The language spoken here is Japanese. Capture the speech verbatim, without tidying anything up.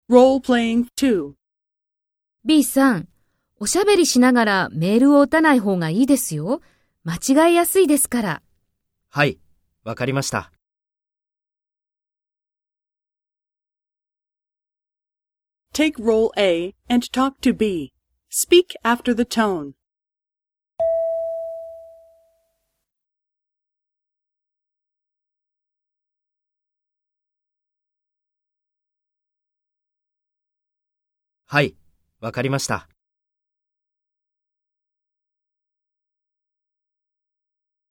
Role-playing two. B さん、おしゃべりしながらメールを打たない方がいいですよ。間違いやすいですから。 はい、わかりました。 Take role A and talk to B. Speak after the tone. はい、わかりました。